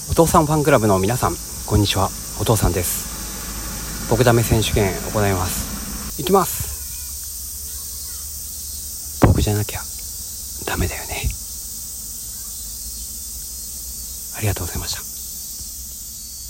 お父さんファンクラブの皆さん、こんにちは。お父さんです。僕ダメ選手権行います。いきます。僕じゃなきゃダメだよね。ありがとうございました。